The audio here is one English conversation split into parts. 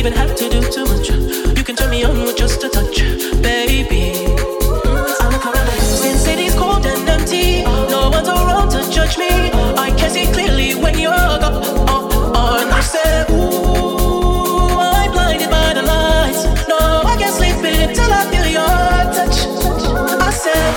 even have to do too much. You can turn me on with just a touch, baby. I look around and since city's cold and empty, no one's around to judge me. I can see clearly when you're gone. I said, ooh, I'm blinded by the lights. No, I can't sleep until I feel your touch. I said,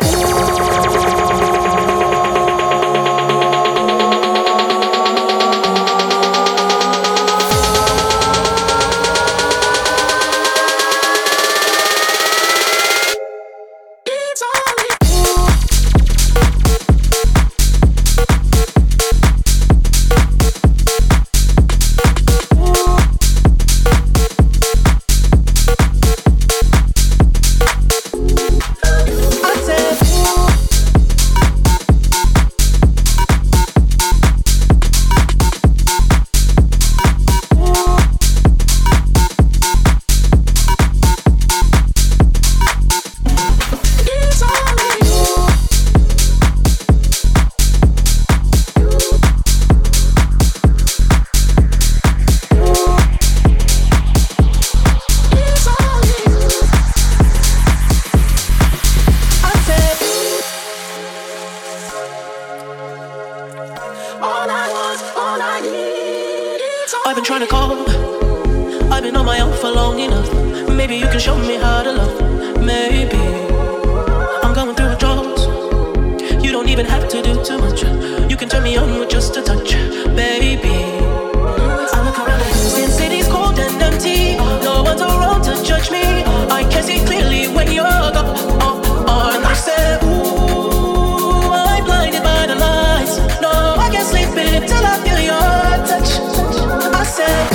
I've been trying to call. I've been on my own for long enough. Maybe you can show me how to love. Maybe I'm going through withdrawals. You don't even have to do too much. You can turn me on with just a touch, baby. I look around and since city's cold and empty, no one's around to judge me. I can see clearly when you're gone. I said, ooh, I'm blinded by the lights. No, I can't sleep until I feel your touch. I said,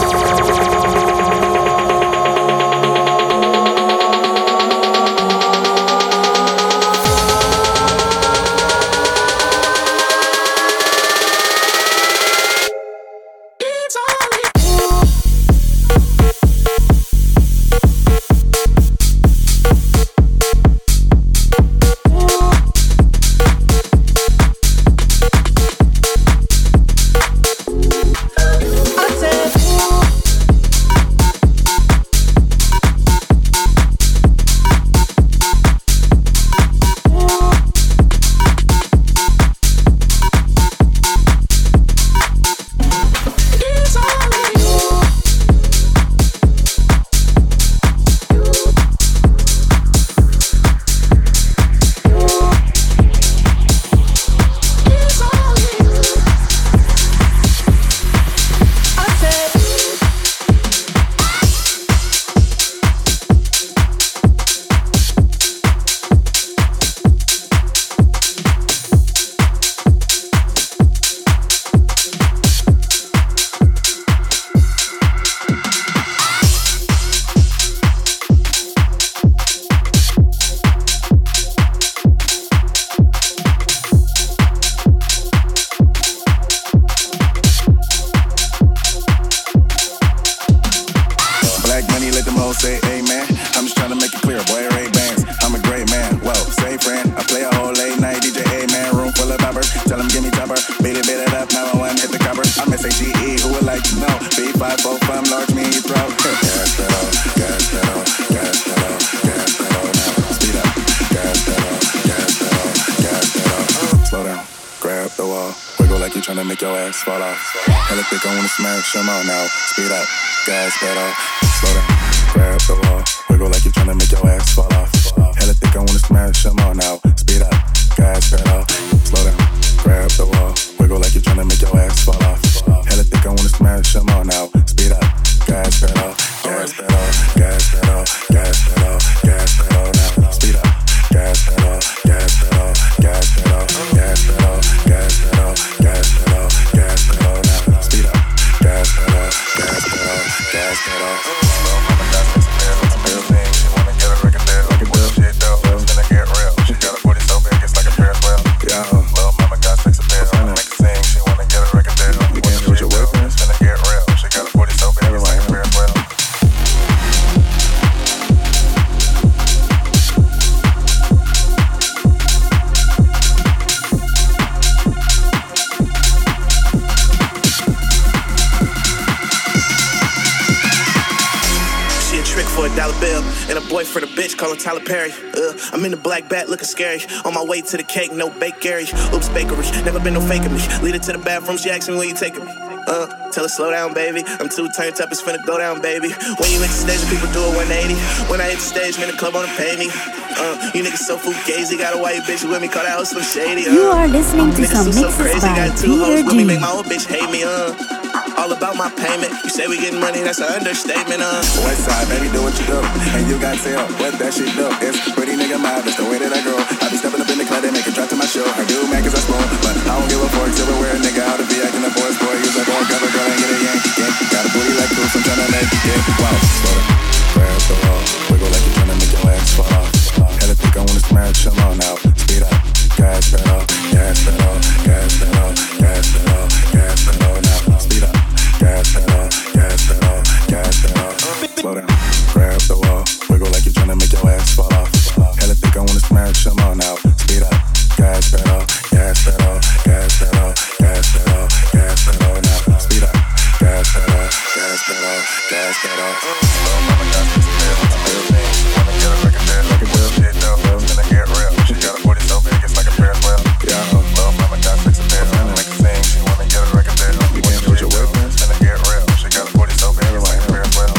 say amen. I'm just trying to make it clear, boy, Ray-Bans. I'm a great man, whoa, say friend. I play a whole late night DJ, amen. Room full of boppers, tell them give me topper. Beat it up, 911, hit the copper. I'm S-H-E-E, who would like to know? B545, large me in your throat. Gas pedal, gas pedal, gas pedal, gas pedal. Now speed up, gas pedal, gas pedal, gas pedal. Slow down, grab the wall. Wiggle like you trying to make your ass fall off. Hella thick, I wanna smash them all now. Speed up, gas pedal, slow down. Grab the wall, wiggle like you're tryna make your ass fall off. Hella thick, I wanna smash them all now. Speed up, gas pedal, slow down. Grab the wall, wiggle like you're tryna make your ass fall off. Hella thick, I wanna smash them all now. Speed up, gas pedal, gas pedal, gas pedal, gas pedal, gas pedal now. Speed up, gas pedal, gas pedal, gas pedal, gas pedal, gas pedal, gas pedal, gas pedal now. Speed up, gas pedal, gas pedal, gas pedal. boyfriend a bitch, call him Tyler Perry. I'm in the black bat looking scary. On my way to the cake, no bakery. Oops, bakery, never been no faking me. Lead her to the bathroom, she asked me where you taking me. Tell her slow down, baby. I'm too turned up, it's finna go down, baby. When you hit the stage, people do a 180. When I hit the stage, man, the club wanna pay me. You niggas so fugazi, got a white bitch with me, call that hoe Slim Shady. You are listening to some mixes by Peter with me, make my G. old bitch hate me. All about my payment. You say we getting money, that's an understatement. West side, baby, do what you do. And you got tell what that shit do. It's pretty nigga mob, it's the way that I grow. I be stepping up in the club, they make it drop to my show. I do man cause I spoon, but I don't give a fork. Silverware, nigga, out to be acting a boy's boy. Use that boy, cover, girl, and get a yank. Got a booty like Bruce, I'm tryna make it. Wow, slow down, grab the wall. Wiggle like you're tryna make your ass fall off. Hella think I wanna smash, come on now. Speed up, gas pedal, gas pedal, gas pedal, gas pedal, gas pedal now. Speed up, gas pedal, gas pedal, gas pedal. Slow down, grab the wall. Wiggle like you're tryna make your ass fall off. Hella think I wanna smash, come on now. Speed up, gas pedal, gas pedal, gas pedal, gas pedal, gas pedal now. Speed up, gas pedal, gas pedal, gas pedal. Little mama got this deal, real thing. Wanna get a record deal, like a deal. Shit though, it's gonna get real. She got a booty so big, it's like a Ferris wheel. Yeah, little mama got fix a deal, make a sing. She wanna get a record deal. You can't do your work, it's gonna get real. She got a booty so big, it's like a Ferris wheel.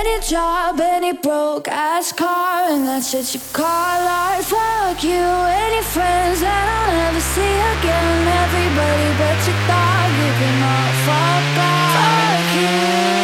Any job, any broke ass car, and that's what you call art. Fuck you, any friends that I'll never see again. Everybody but your dog, you can all fuck off. Fuck you.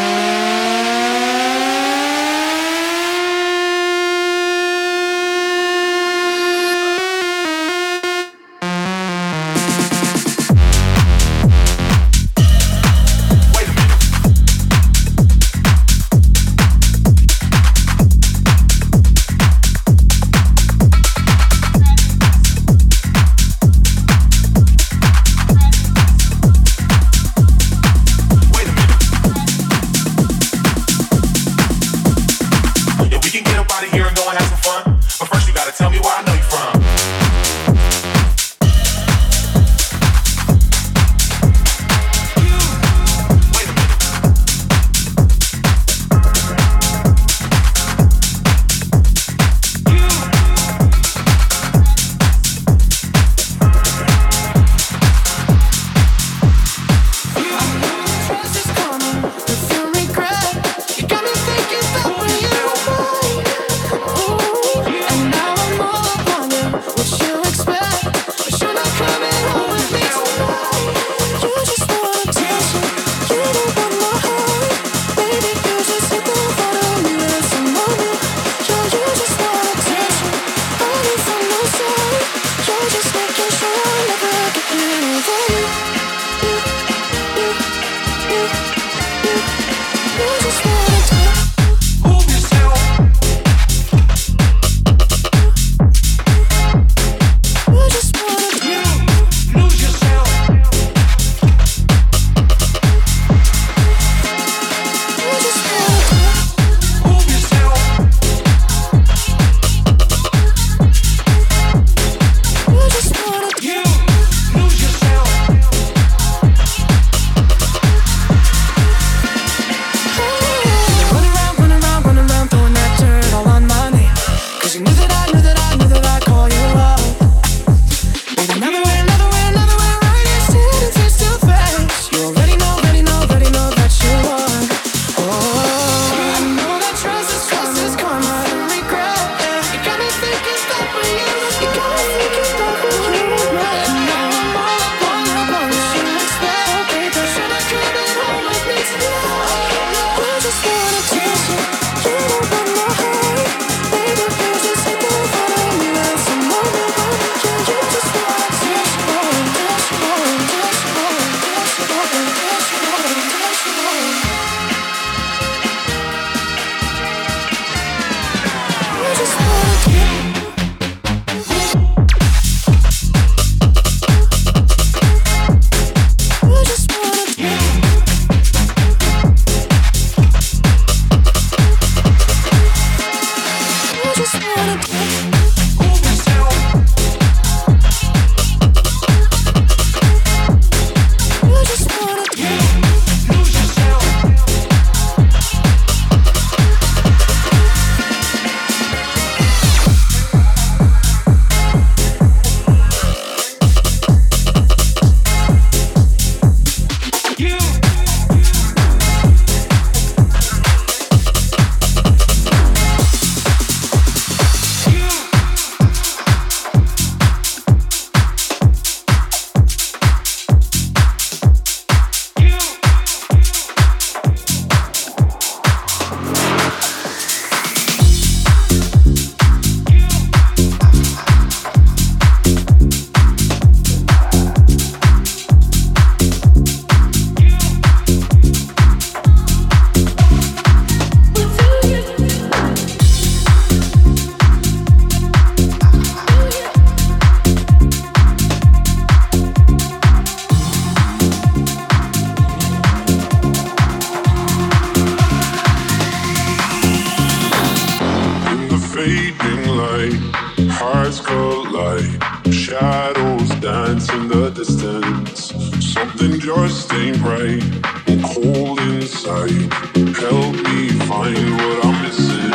hearts collide, shadows dance in the distance. Something just ain't right, I'm cold inside. Help me find what I'm missing.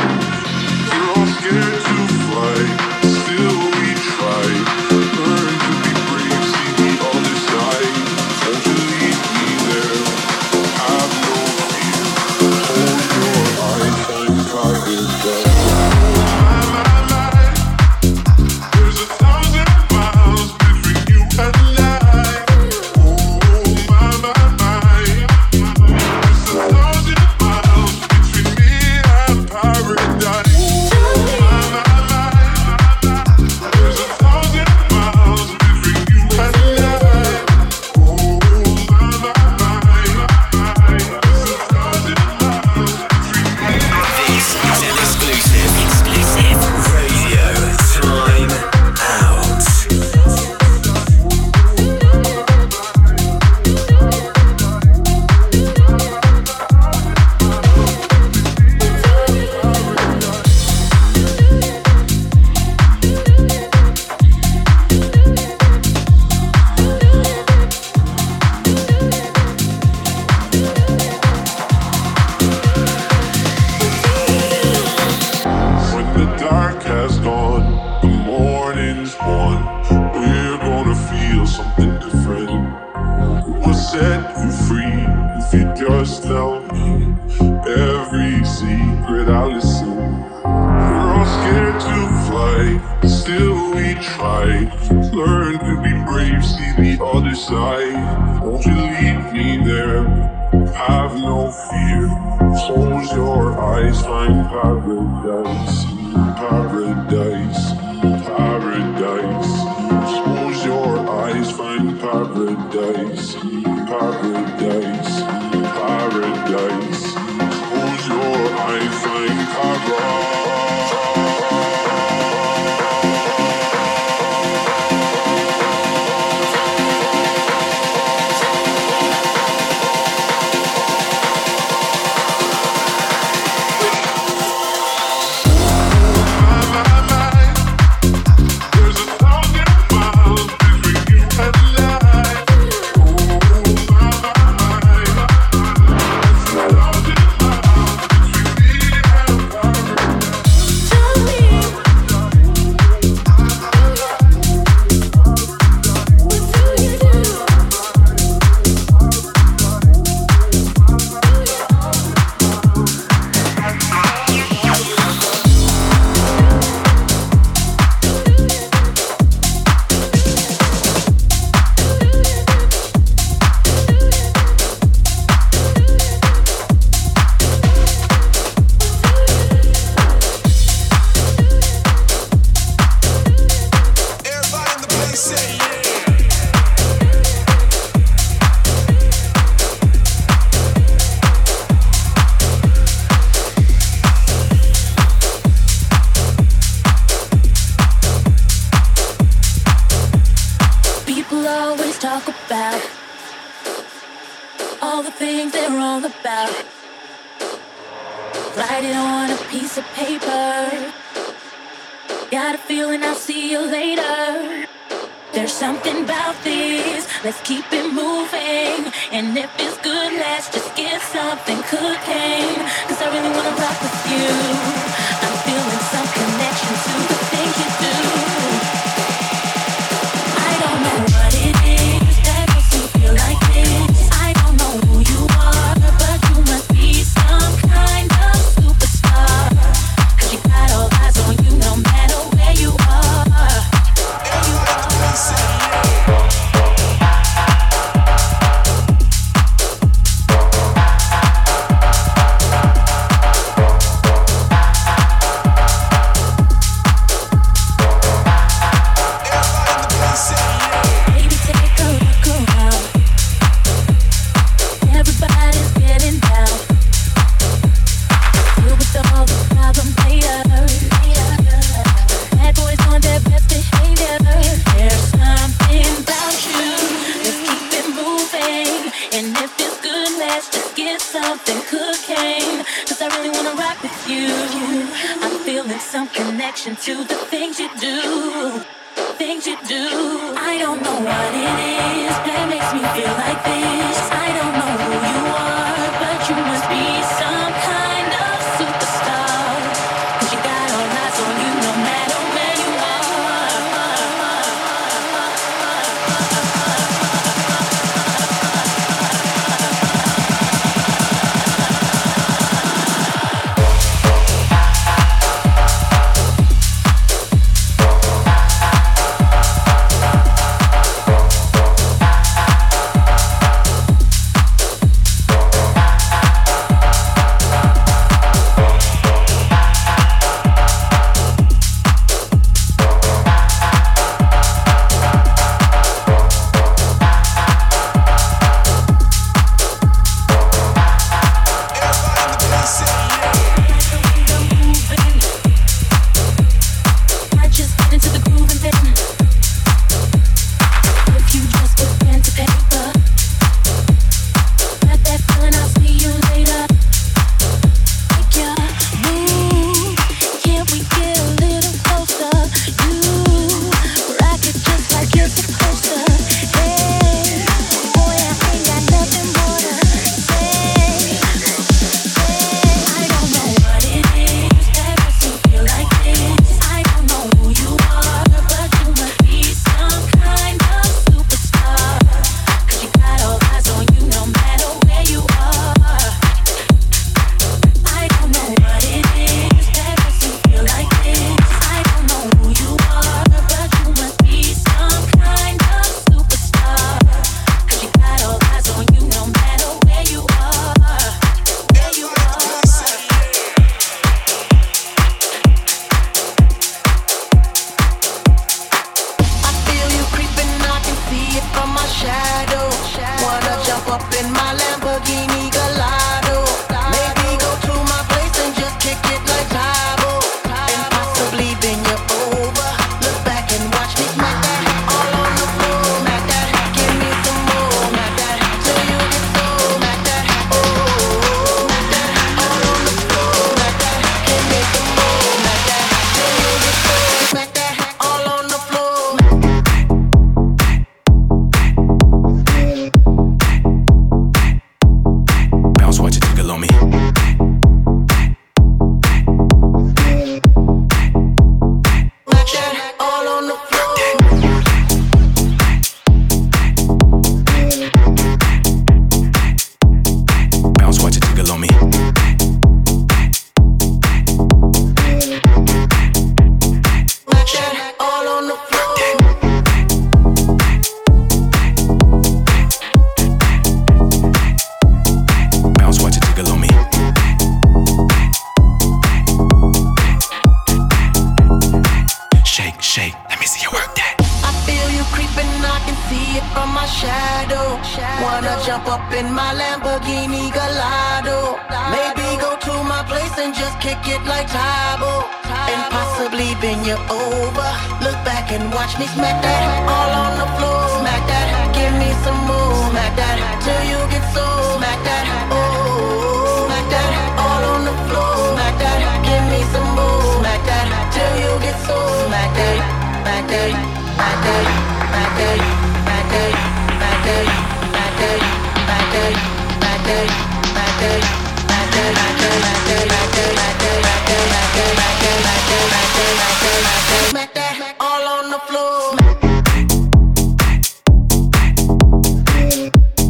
We're all scared to fly, still we try. Learn to be brave, see the other side. Won't you leave me there? Have no fear, hold your eye, up in my Lamborghini Gallardo. Maybe go to my place and just kick it like Tybo, and possibly bend you over. Look back and watch me smack that all on the floor. Smack that, give me some more. Smack that till you get so. Smack that, oh. Smack that all on the floor. Smack that, give me some more. Smack that till you get so. Smack that, smack that, smack that, smack that, smack that, smack that, smack that, smack that, smack that, smack that, smack that, smack that all on the floor.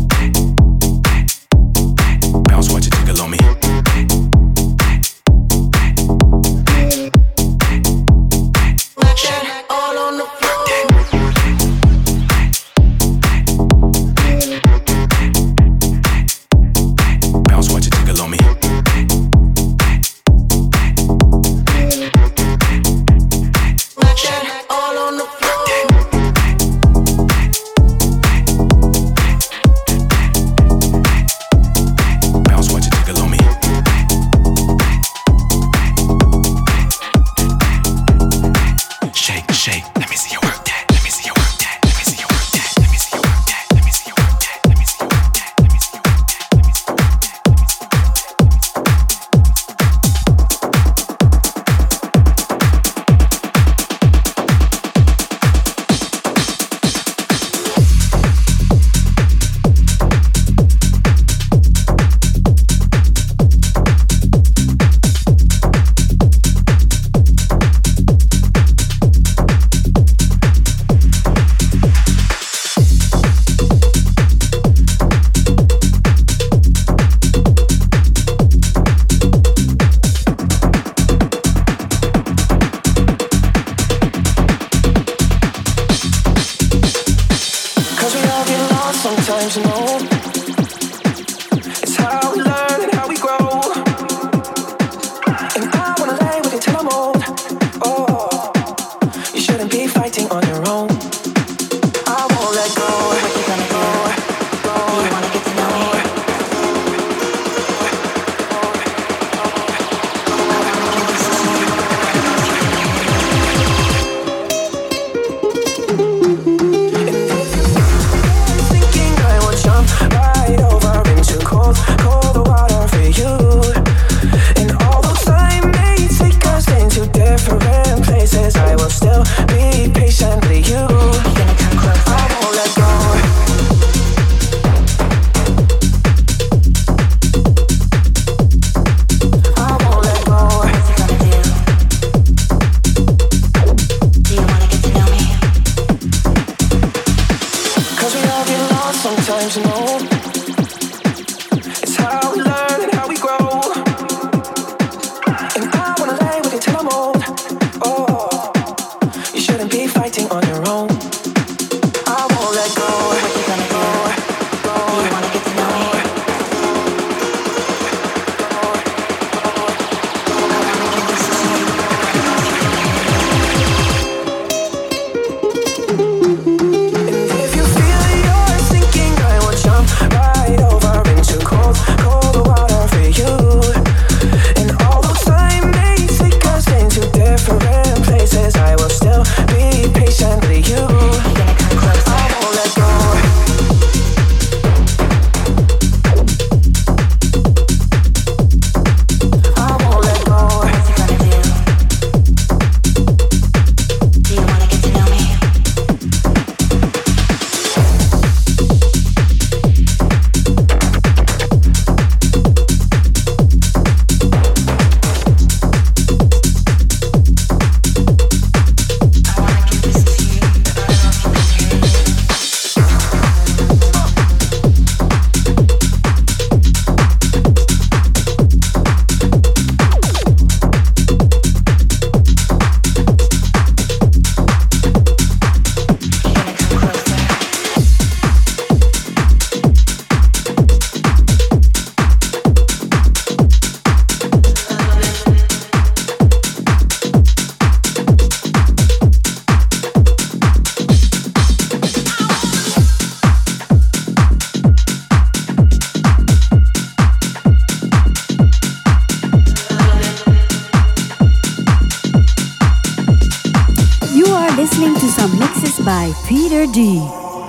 listening to some mixes by Peter D.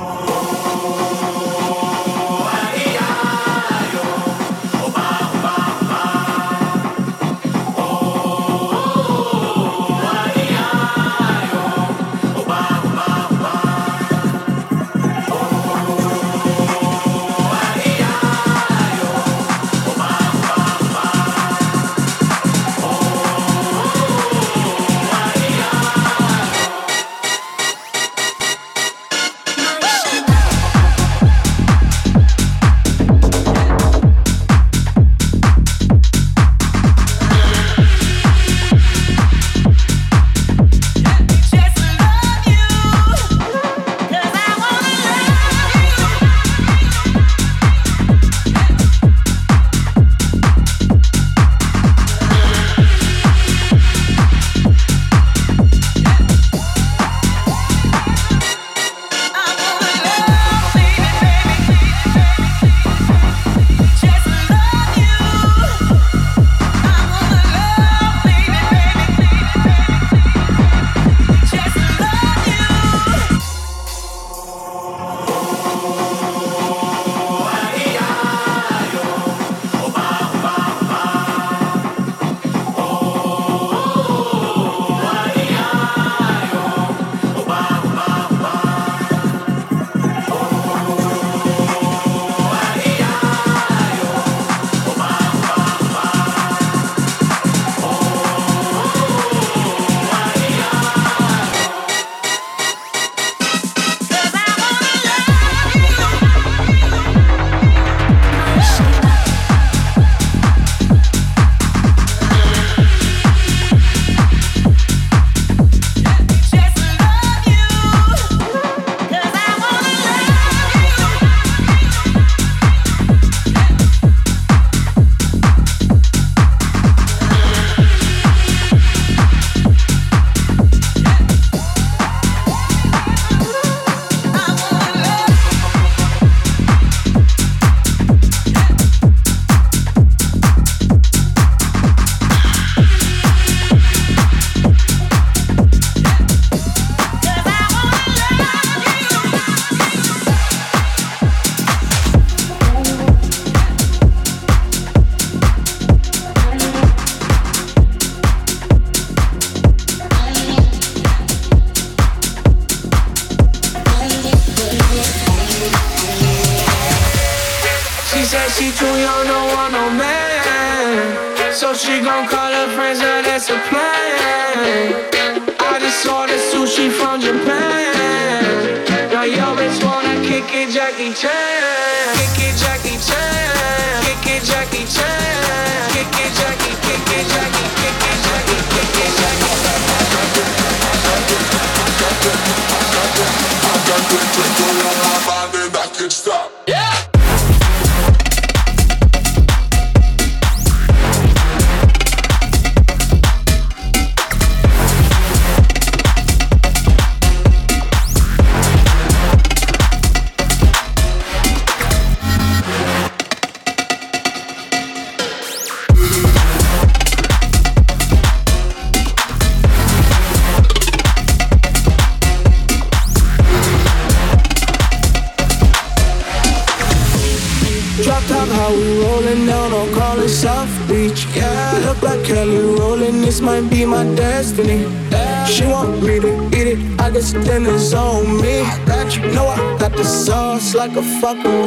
She want me to eat it, I guess then it's on me. Know I got the sauce like a fucking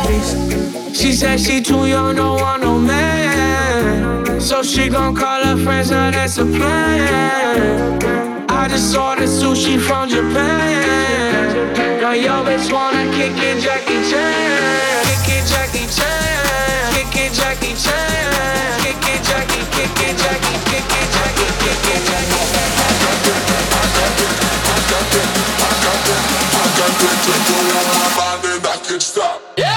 recipe. She said she too young, don't want no man, so she gon' call her friends, now that's a plan. I just ordered sushi from Japan. Now yo bitch wanna kick it Jackie Chan. Kick it Jackie Chan. Kick it Jackie Chan. Kick it Jackie, kick it Jackie, kick it Jackie, kick it Jackie. I got the twinkle on my mind and I can't stop. Yeah.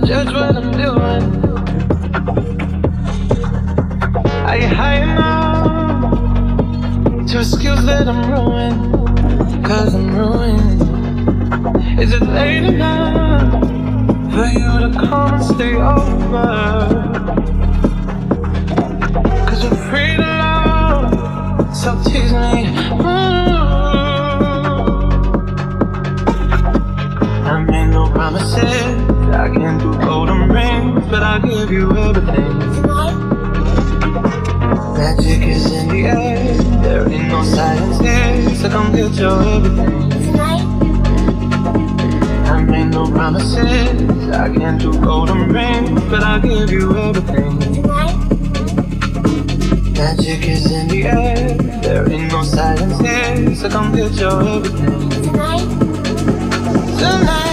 judge what I'm doing. I get high enough to excuse that I'm ruined, 'cause I'm ruined. Is it late enough for you to come and stay over? 'Cause we're free to love, so tease me. I made no promises, I can't do golden rings, but I'll give you everything. Magic is in the air, there ain't no silence here, so come get your everything. I made no promises, I can't do golden rings, but I'll give you everything. Magic is in the air, there ain't no silence here, so come get your everything. Tonight.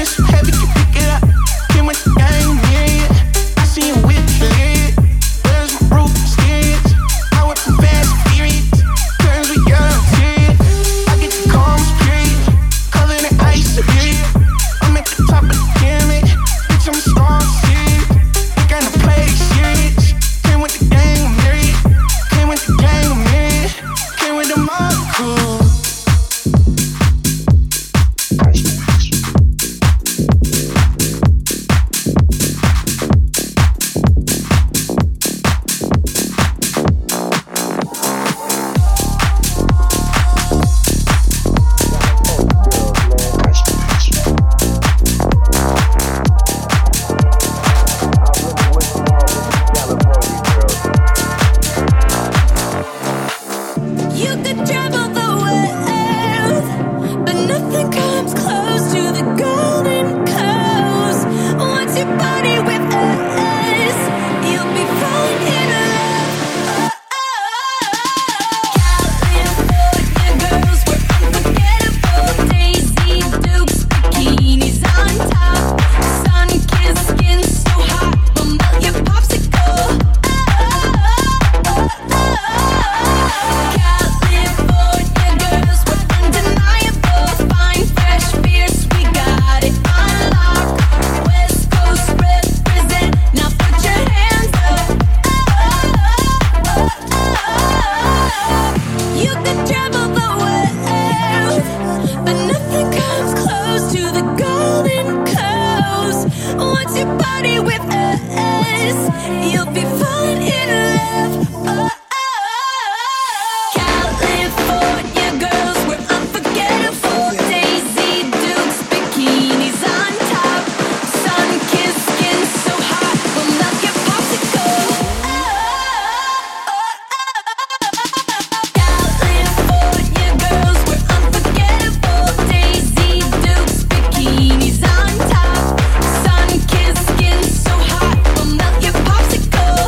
Sun-kissed skin so hot, will melt your popsicle.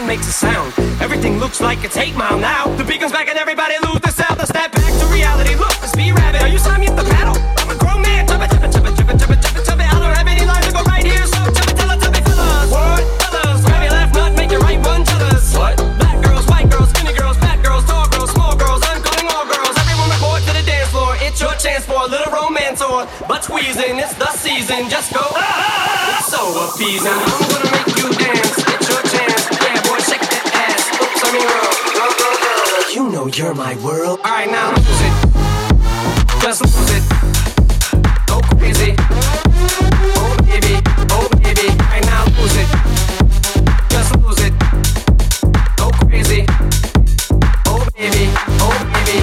makes a sound. Everything looks like it's 8 Mile now. The beat comes back and everybody lose the sound. Let's snap back to reality. Look, let's be rabbit. Are you signing me at the paddle? I'm a grown man. Chubba, chubba, chubba, chubba, chubba, chubba, chubba. I don't have any lines to go right here, so chubba, tell it, chubby fellas. What? Fellas, grab your left nut, make your right one, fellas. What? Black girls, white girls, skinny girls, fat girls, tall girls, small girls. I'm calling all girls. Everyone report to the dance floor. It's your chance for a little romance or butt squeezing. It's the season. Just go. It's so appeasing. I'm gonna make you dance. It's your chance. Yeah, boy, shake that ass. Oops, I mean roll. You know you're my world. All right, now lose it. Just lose it. Go crazy. Oh baby, oh baby. All right, now lose it. Just lose it. Go crazy. Oh baby, oh baby.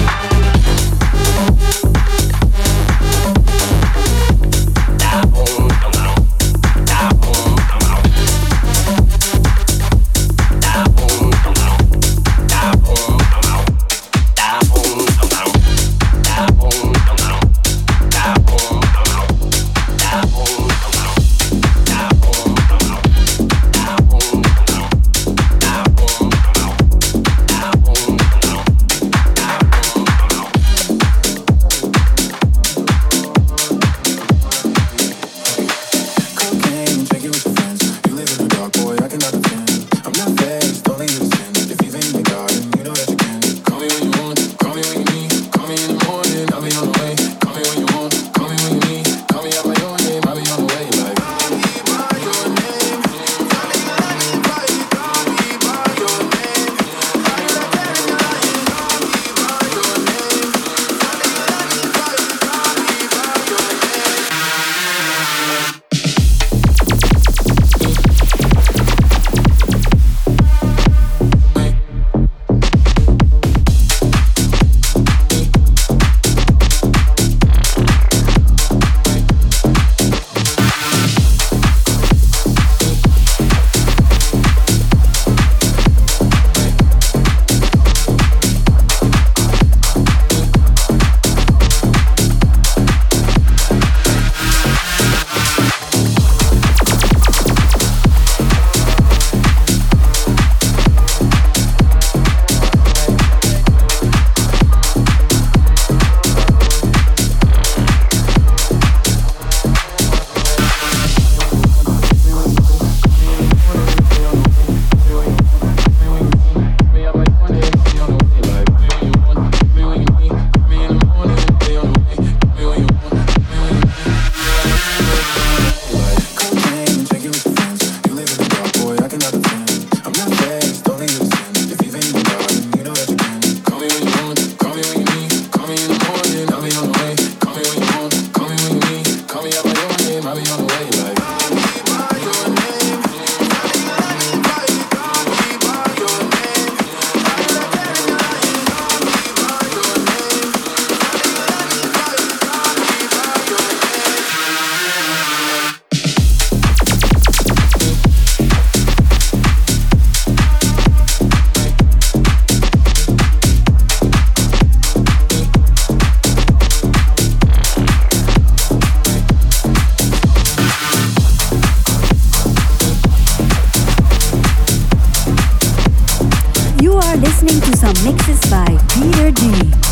Listening to some mixes by Peter D.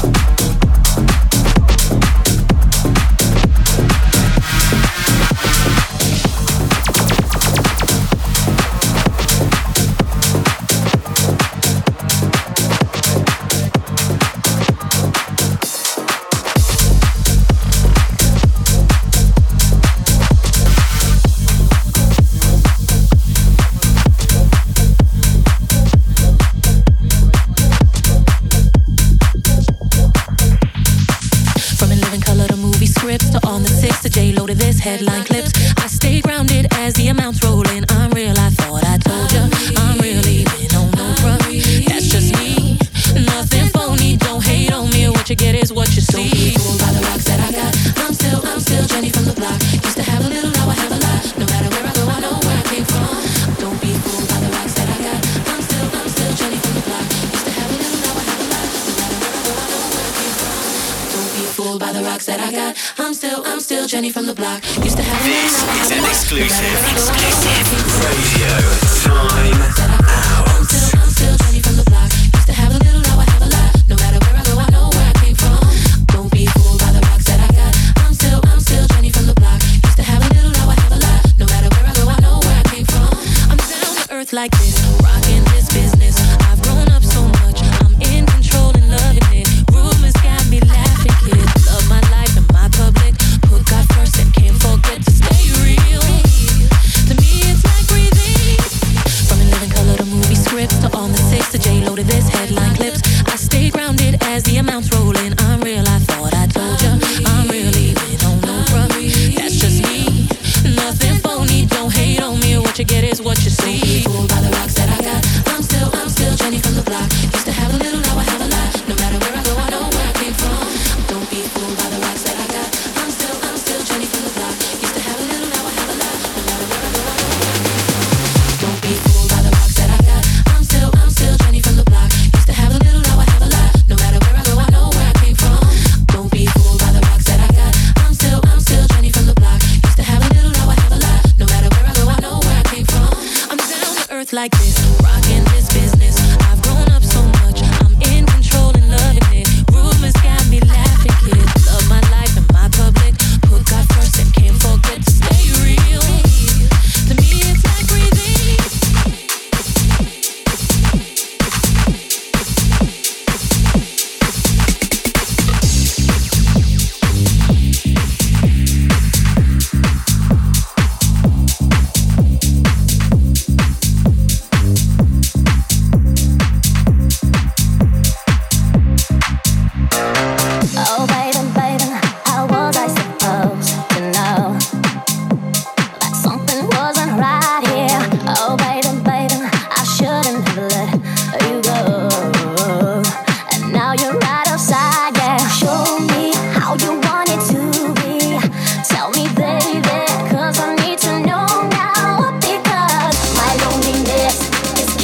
Headline clips, I stay grounded as the amounts roll in. I'm real, I thought I told ya. I'm really been on no run. That's just me, nothing phony. Don't hate on me, what you get is what you see. Don't be fooled by the rocks that I got. I'm still Jenny from the block. Used to have a little, now I have a lot. No matter where I go, I know where I came from. Don't be fooled by the rocks that I got. I'm still Jenny from the block. Used to have a little, now I have a lot. No matter where I go, I know where I came from. Don't be fooled by the rocks that I got. I'm still Jenny from the block. Used to have a This is an exclusive radio time out.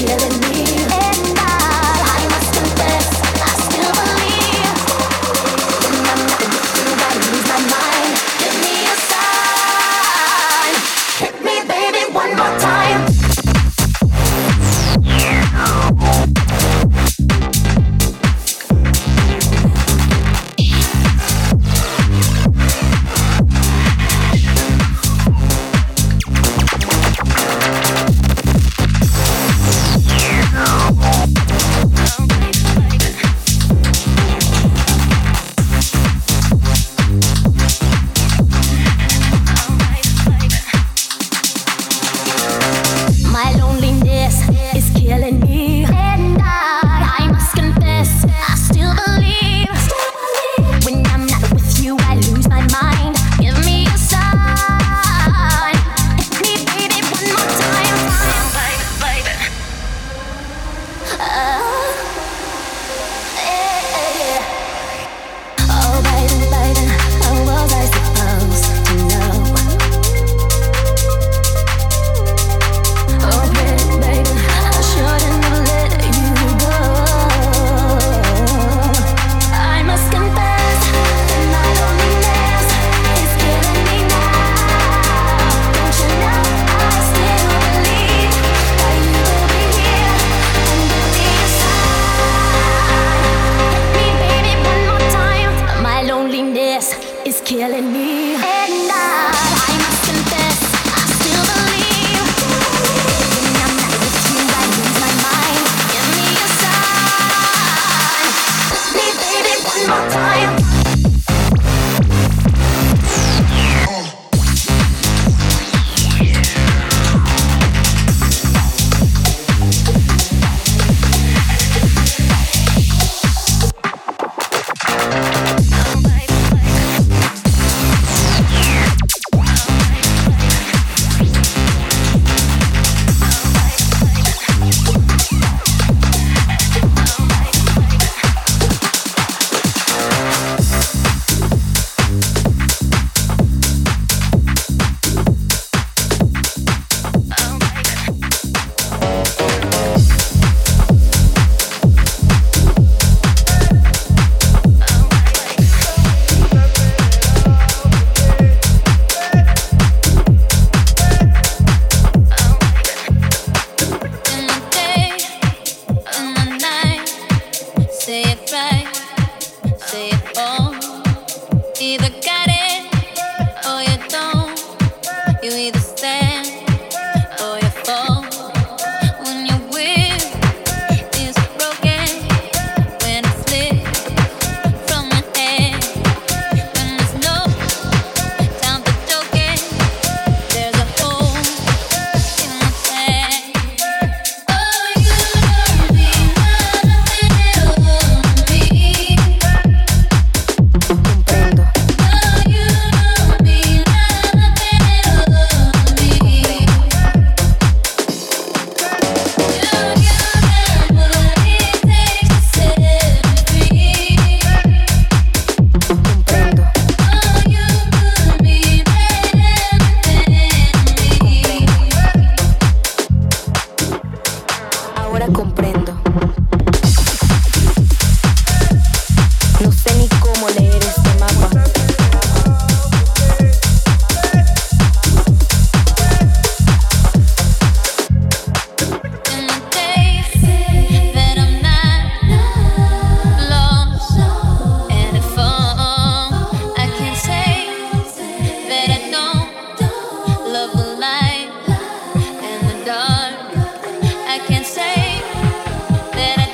That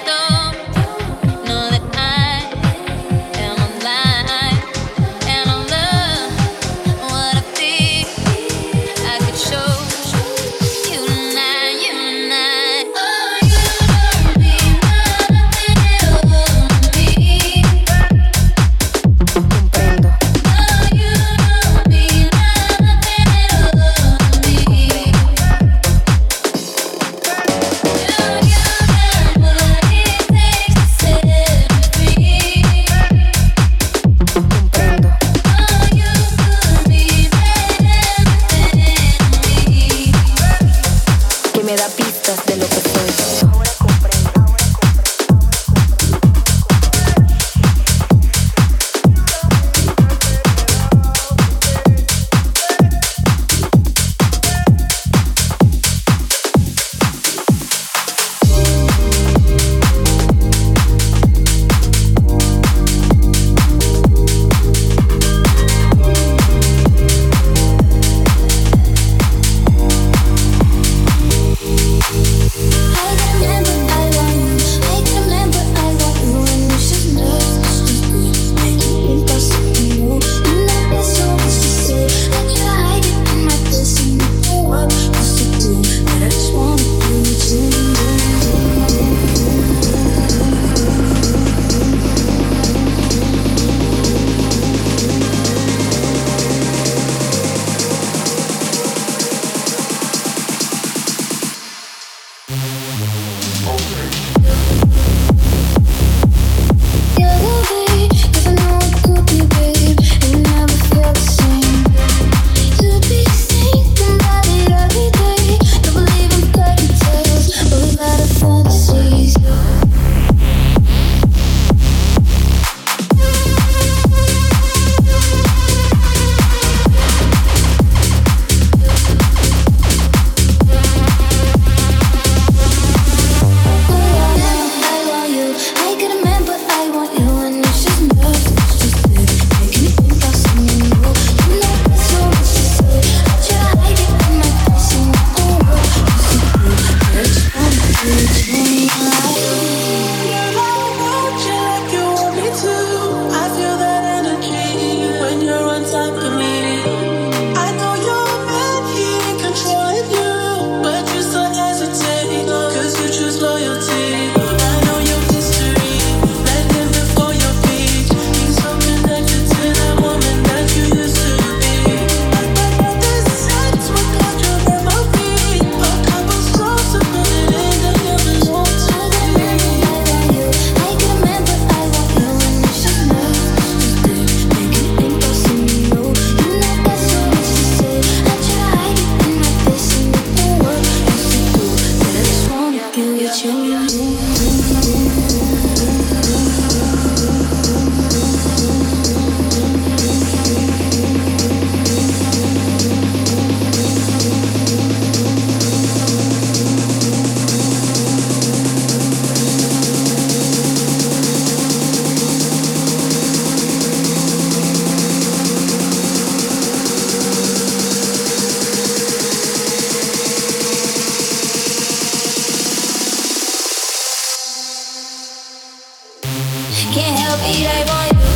Can't help it, I want you.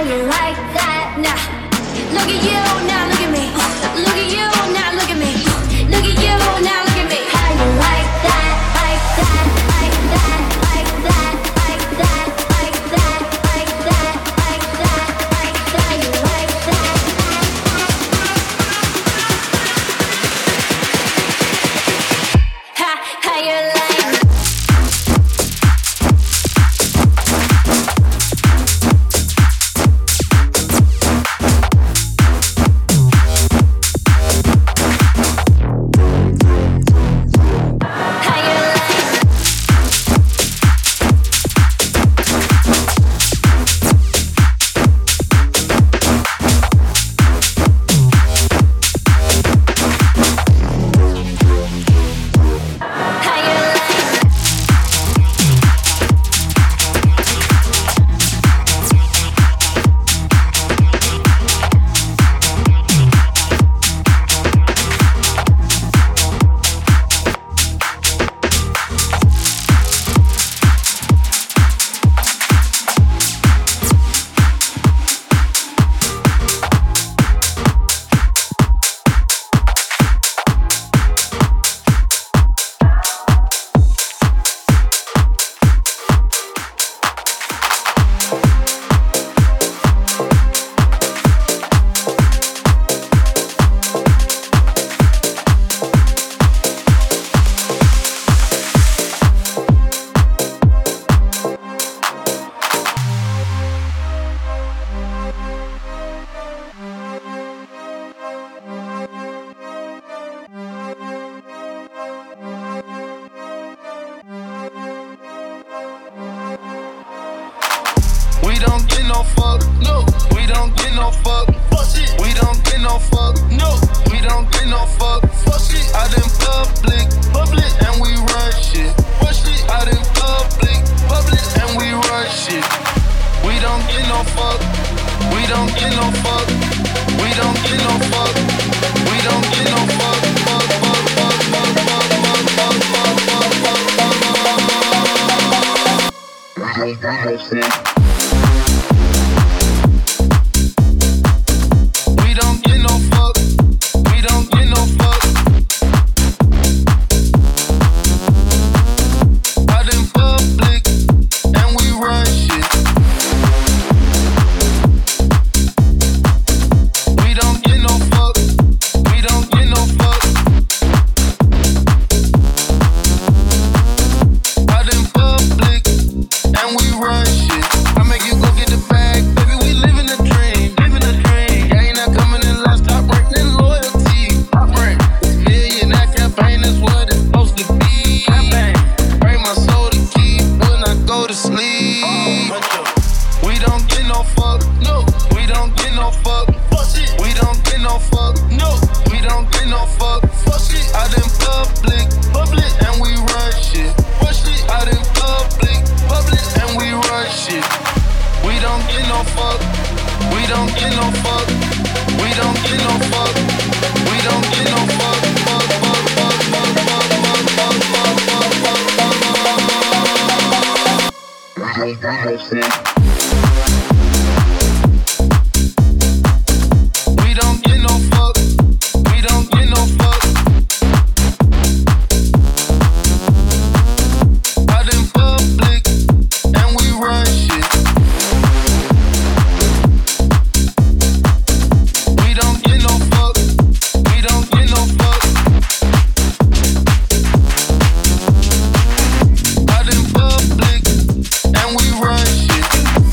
you like that? Nah. Look at you, now look at me. Look at you, now look at me. Look at you, now look at me. How you like that? Like that? Like that? Like that? Like that? Like that? Like that? Like that? Like that? You like that? How you like? And we run shit.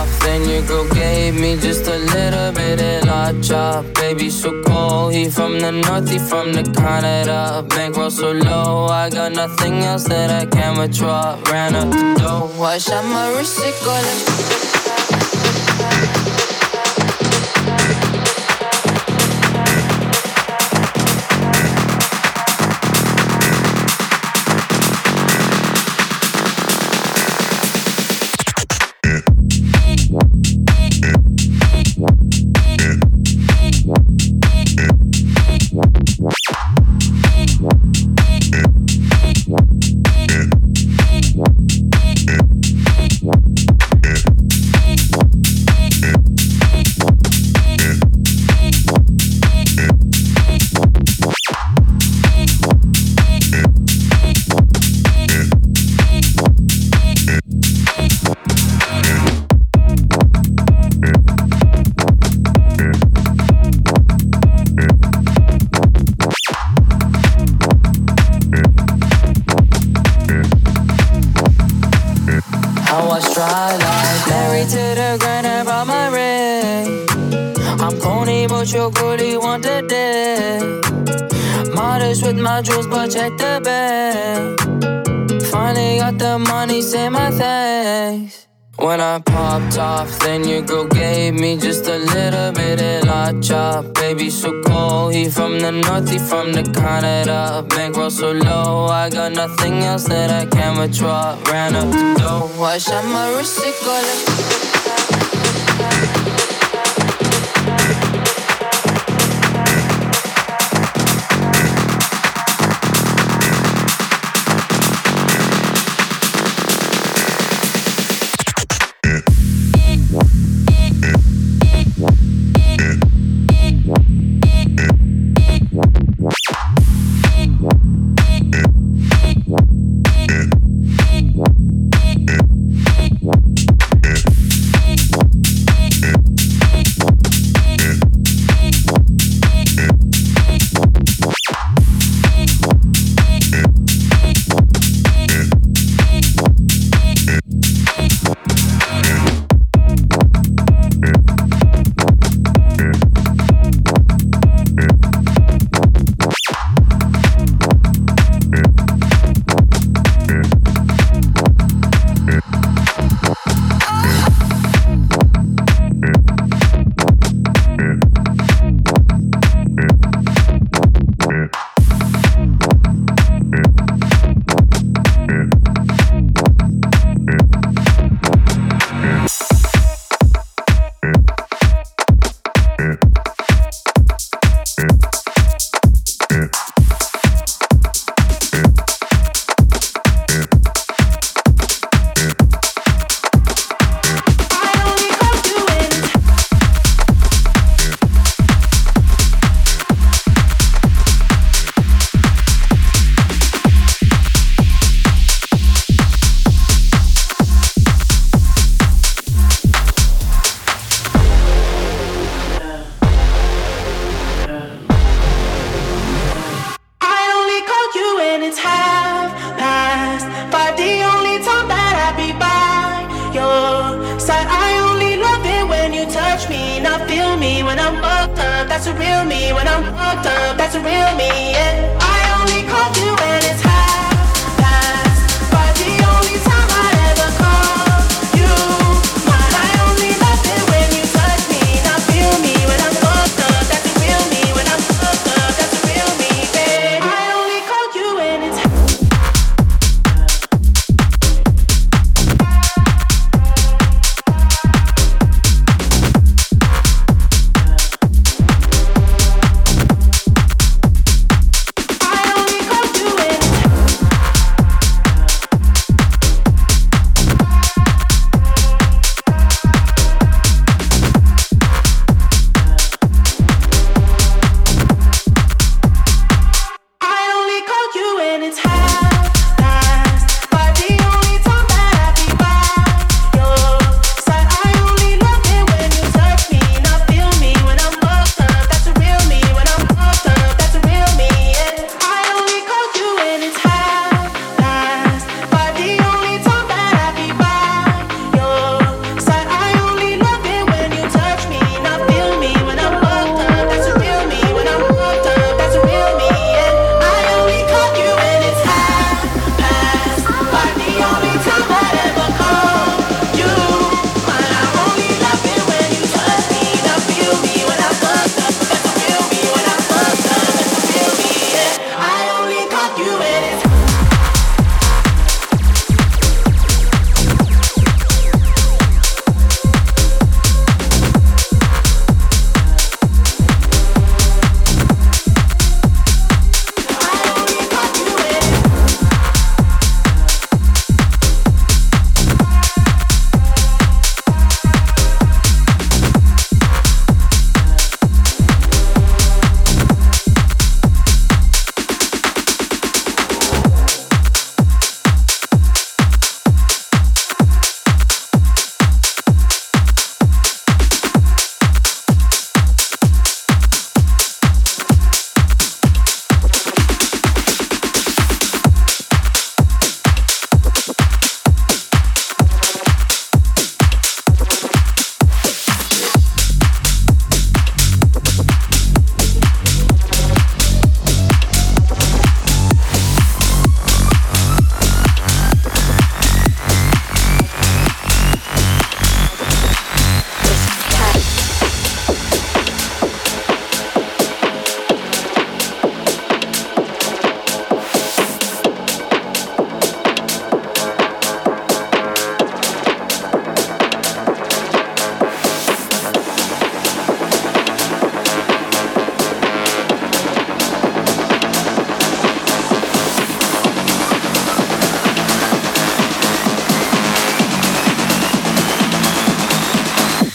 off, then your girl gave me just a little bit of la chop. Baby so cold, he from the north, he from the Canada. Bankroll so low, I got nothing else that I can withdraw. Ran up the dough, I shot my wrist, it go like jewels, but check the bag. Finally got the money, say my thanks. When I popped off, then your girl gave me just a little bit of la chop. Baby so cold, he from the north, he from the Canada. Bankroll so low, I got nothing else that I can withdraw. Ran up the dough, I shot my wrist, it go like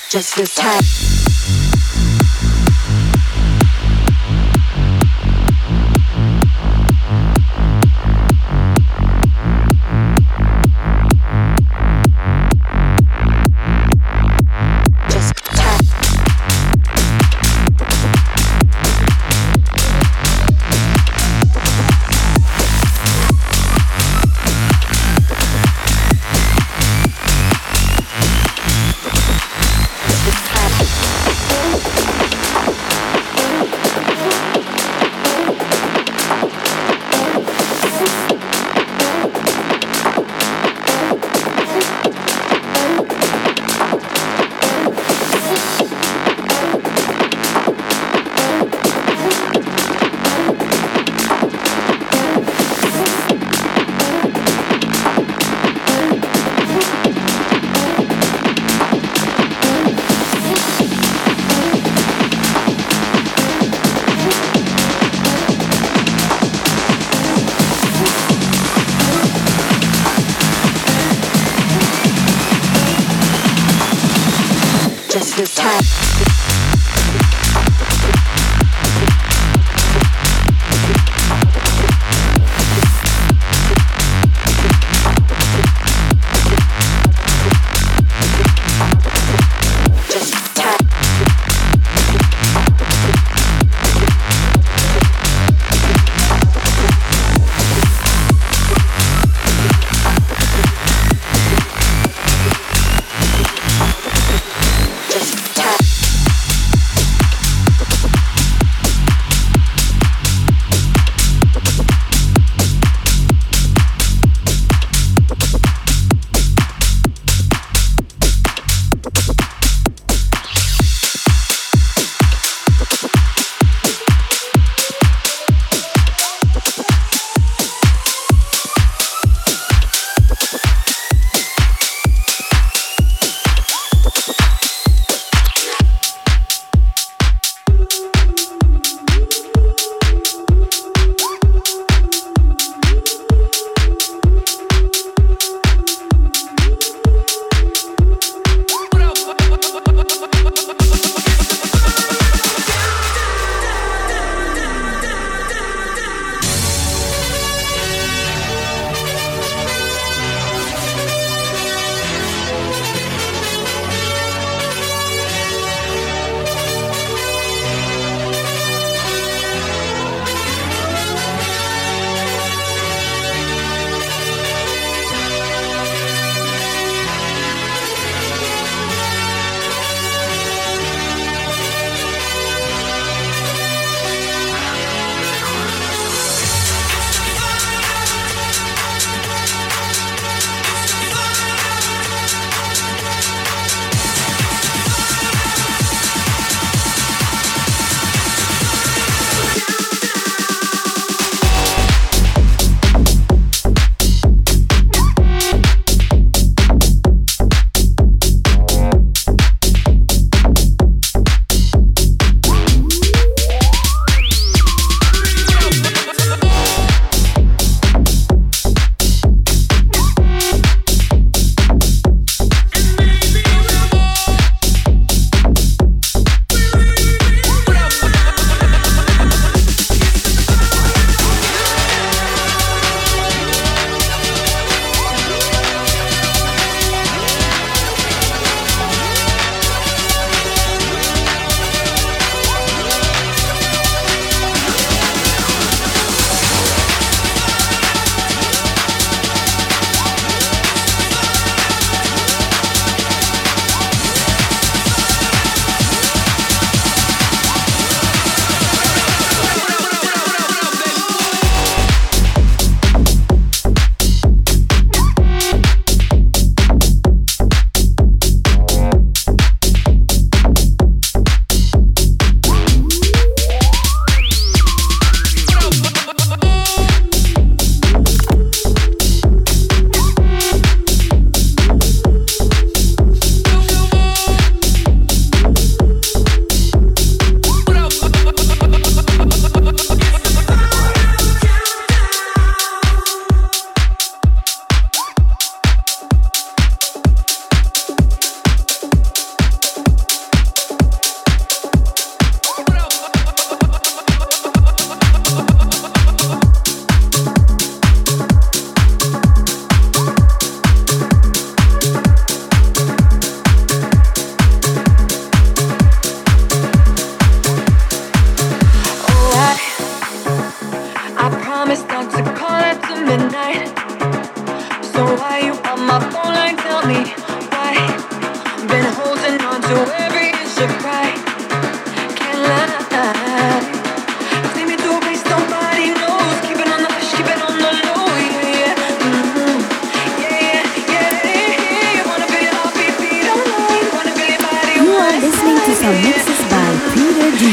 Just this time. This time. Just time. to every inch of pride. Can't lie. Take me to a place nobody knows. Keep it on the hush, keep it on the low. Yeah, yeah. Mm-hmm. Yeah, yeah, yeah. Wanna feel your heartbeat beat online. Wanna feel your body. You are listening to some mixes by Peter D.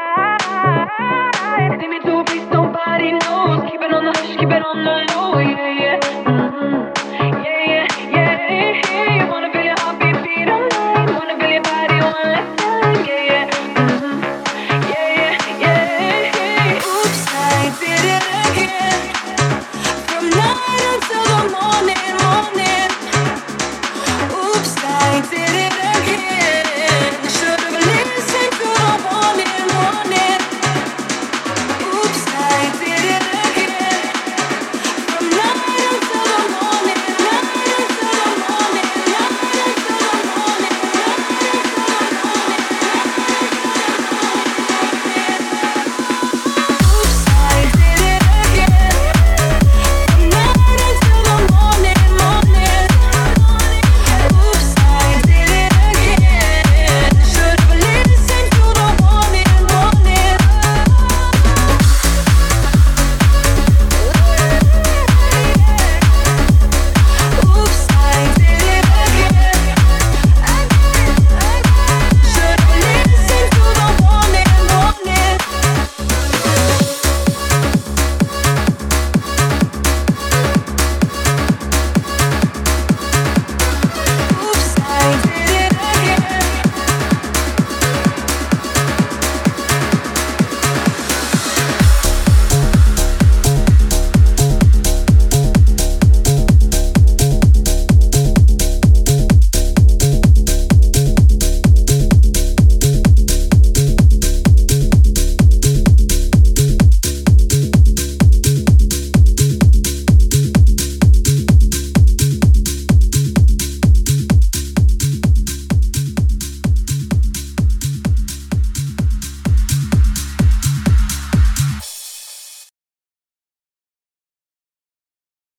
Keep it on the low, yeah.